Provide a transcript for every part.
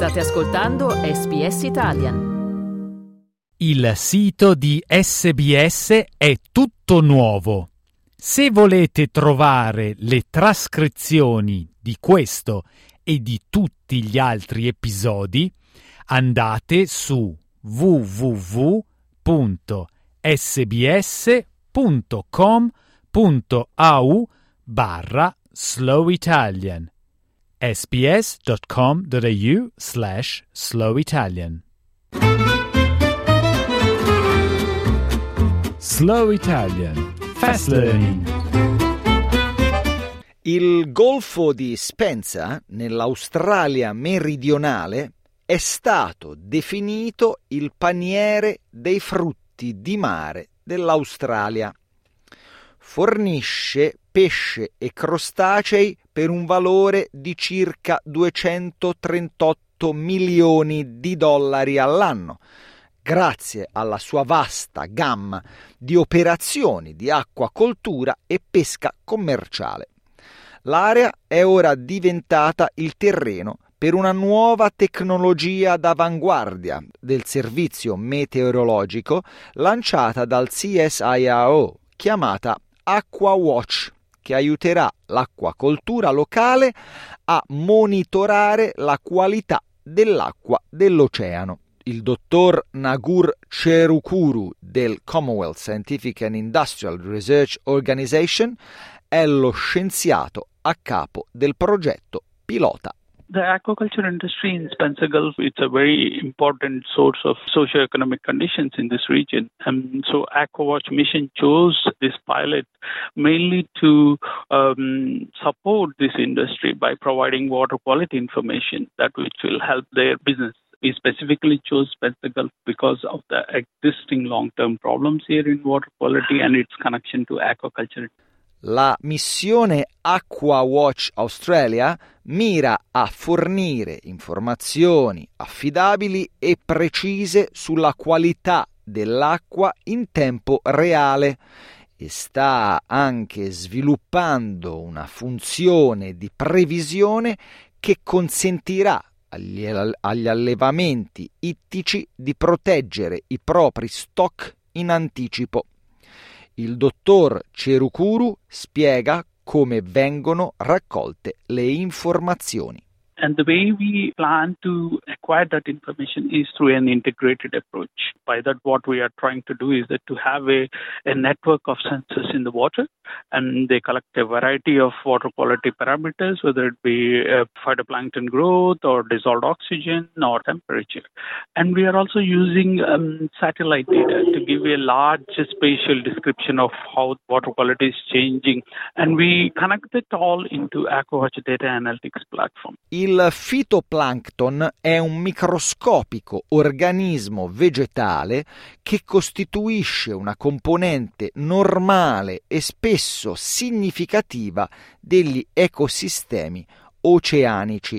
State ascoltando SBS Italian. Il sito di SBS è tutto nuovo. Se volete trovare le trascrizioni di questo e di tutti gli altri episodi, andate su www.sbs.com.au/slowitalian sbs.com.au/slowitalian. Slow Italian Fast Learning. Il golfo di Spencer, nell'Australia meridionale, è stato definito il paniere dei frutti di mare dell'Australia. Fornisce pesce e crostacei per un valore di circa 238 milioni di dollari all'anno, grazie alla sua vasta gamma di operazioni di acquacoltura e pesca commerciale. L'area è ora diventata il terreno per una nuova tecnologia d'avanguardia del servizio meteorologico lanciata dal CSIRO, chiamata AquaWatch, che aiuterà l'acquacoltura locale a monitorare la qualità dell'acqua dell'oceano. Il dottor Nagur Cherukuru del Commonwealth Scientific and Industrial Research Organization è lo scienziato a capo del progetto pilota. The aquaculture industry in Spencer Gulf is a very important source of socio-economic conditions in this region. So AquaWatch mission chose this pilot mainly to support this industry by providing water quality information which will help their business. We specifically chose Spencer Gulf because of the existing long-term problems here in water quality and its connection to aquaculture. La missione AquaWatch Australia mira a fornire informazioni affidabili e precise sulla qualità dell'acqua in tempo reale e sta anche sviluppando una funzione di previsione che consentirà agli allevamenti ittici di proteggere i propri stock in anticipo. Il dottor Cherukuru spiega come vengono raccolte le informazioni. And the way we plan to acquire that information is through an integrated approach. By that, what we are trying to do is that to have a network of sensors in the water, and they collect a variety of water quality parameters, whether it be phytoplankton growth or dissolved oxygen or temperature. And we are also using satellite data to give a large spatial description of how water quality is changing. And we connect it all into AquaWatch Data Analytics platform. Il fitoplancton è un microscopico organismo vegetale che costituisce una componente normale e spesso significativa degli ecosistemi oceanici.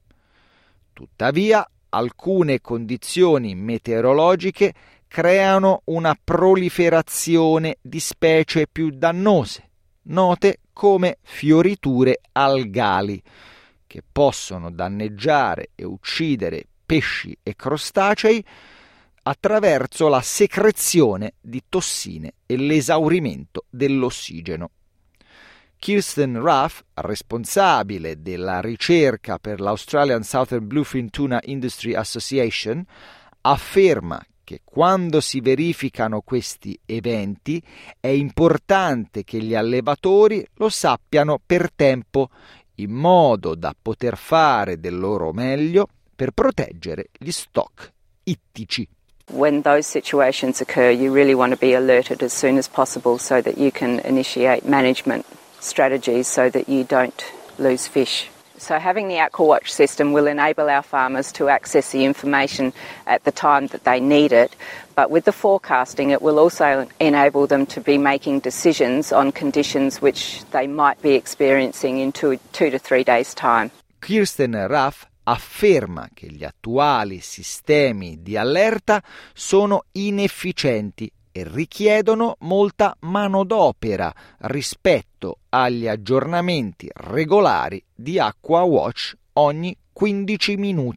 Tuttavia, alcune condizioni meteorologiche creano una proliferazione di specie più dannose, note come fioriture algali, che possono danneggiare e uccidere pesci e crostacei attraverso la secrezione di tossine e l'esaurimento dell'ossigeno. Kirsten Ruff, responsabile della ricerca per l'Australian Southern Bluefin Tuna Industry Association, afferma che quando si verificano questi eventi è importante che gli allevatori lo sappiano per tempo, in modo da poter fare del loro meglio per proteggere gli stock ittici. When those situations occur, you really want to be alerted as soon as possible so that you can initiate management strategies so that you don't lose fish. So having the AquaWatch system will enable our farmers to access the information at the time that they need it, but with the forecasting it will also enable them to be making decisions on conditions which they might be experiencing in 2 to 3 days' time. Kirsten Ruff afferma che gli attuali sistemi di allerta sono inefficienti e richiedono molta manodopera rispetto agli aggiornamenti regolari di AquaWatch ogni 15 minuti.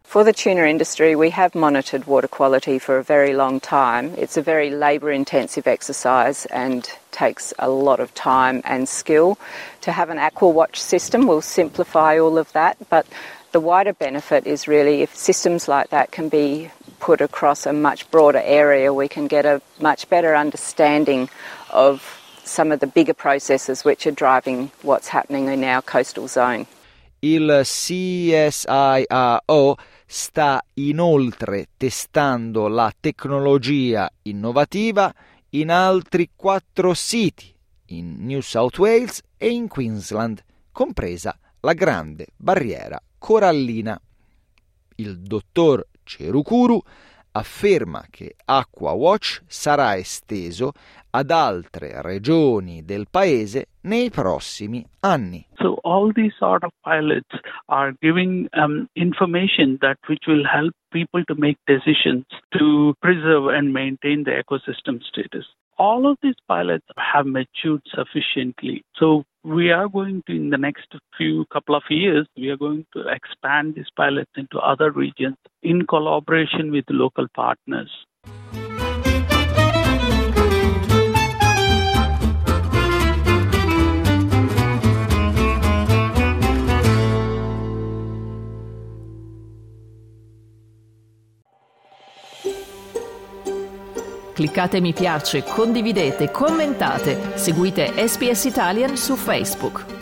For the tuna industry, we have monitored water quality for a very long time. It's a very labour-intensive exercise and takes a lot of time and skill. To have an AquaWatch system will simplify all of that, but the wider benefit is really if systems like that can be put across a much broader area, we can get a much better understanding of some of the bigger processes which are driving what's happening in our coastal zone. Il CSIRO sta inoltre testando la tecnologia innovativa in altri 4 siti, in New South Wales e in Queensland, compresa la Grande Barriera Corallina. Il dottor Cherukuru afferma che AquaWatch sarà esteso ad altre regioni del paese nei prossimi anni. So all these sort of pilots are giving information which will help people to make decisions to preserve and maintain the ecosystem status. All of these pilots have matured sufficiently. So we are going to, in the next couple of years, we are going to expand these pilots into other regions in collaboration with local partners. Cliccate mi piace, condividete, commentate, seguite SBS Italian su Facebook.